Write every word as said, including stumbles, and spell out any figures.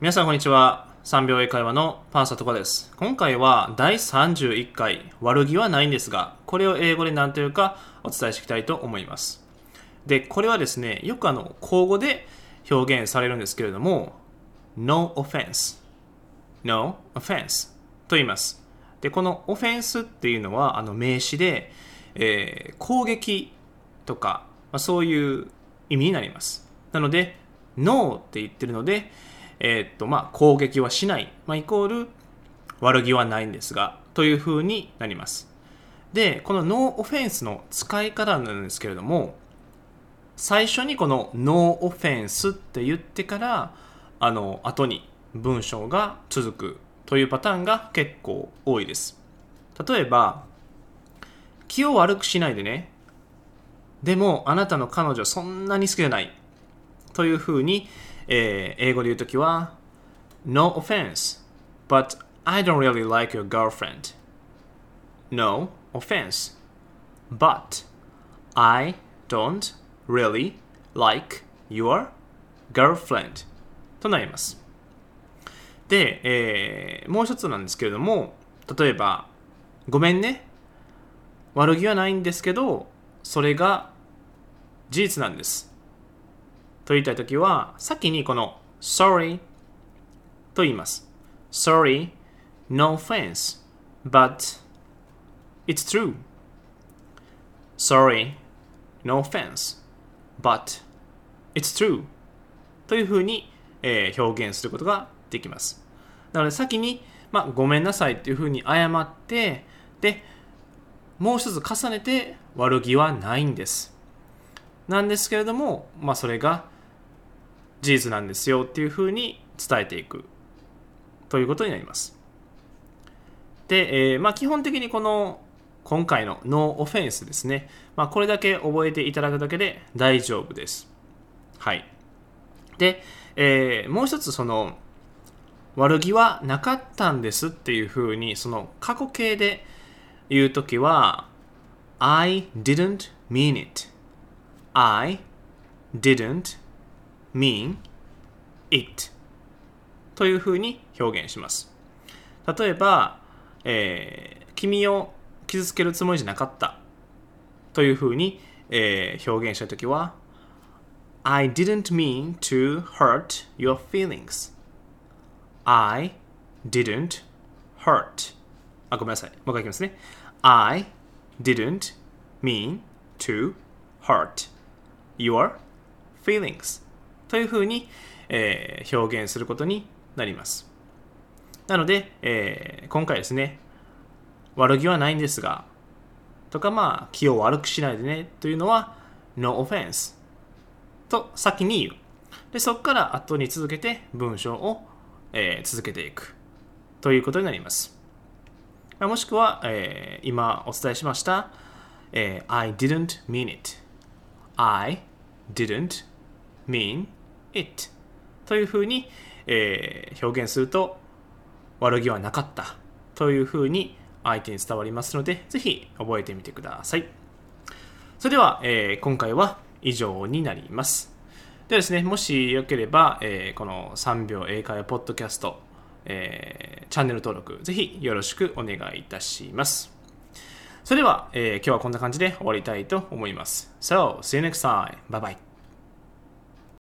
皆さんこんにちは。さんびょう英会話のパンサトカです。今回はだいさんじゅういっかい悪気はないんですが、これを英語で何というかお伝えしていきたいと思います。で、これはですね、よくあの口語で表現されるんですけれども、No offense No offense と言います。で、このオフェンスっていうのはあの名詞で、えー、攻撃とか、まあ、そういう意味になります。なので No って言ってるので、えーっとまあ、攻撃はしない、まあ、イコール悪気はないんですがという風になります。で、この No offense の使い方なんですけれども、最初にこの No offense って言ってからあの後に文章が続くというパターンが結構多いです。例えば、気を悪くしないでね、でもあなたの彼女そんなに好きじゃないという風に、えー、英語で言うときは No offense, but I don't really like your girlfriend. No offense, but I don't really like your girlfriend となります。で、えー、もう一つなんですけれども、例えばごめんね、悪気はないんですけどそれが事実なんですと言いたいときは、先にこの sorry と言います。 Sorry, no offense, but it's true. Sorry, no offense, but it's true というふうに、えー、表現することができます。なので先に、まあ、ごめんなさいというふうに謝って、でもう一つ重ねて悪気はないんですなんですけれども、まあ、それが事実なんですよっていうふうに伝えていくということになります。で、えーまあ、基本的にこの今回の No offense ですね、まあ、これだけ覚えていただくだけで大丈夫です。はい。で、えー、もう一つその悪気はなかったんですっていうふうにその過去形で言うときは I didn't mean it I didn't mean it というふうに表現します。例えば、えー、君を傷つけるつもりじゃなかったというふうに、えー、表現したいときは I didn't mean to hurt your feelings I didn't hurt あ、ごめんなさい。もう一回いきますね。I didn't mean to hurt your feelings というふうに、えー、表現することになります。なので、えー、今回ですね、悪気はないんですがとか、まあ気を悪くしないでねというのは No offense と先に言う。で、そこから後に続けて文章を、えー、続けていくということになります。もしくは、えー、今お伝えしました、えー、I didn't mean it I didn't mean it というふうに、えー、表現すると悪気はなかったというふうに相手に伝わりますので、ぜひ覚えてみてください。それでは、えー、今回は以上になります。ではですね、もしよければ、えー、このさんびょう英会話ポッドキャスト、えー、チャンネル登録ぜひよろしくお願いいたします。それでは、えー、今日はこんな感じで終わりたいと思います。So, see you next time. Bye bye.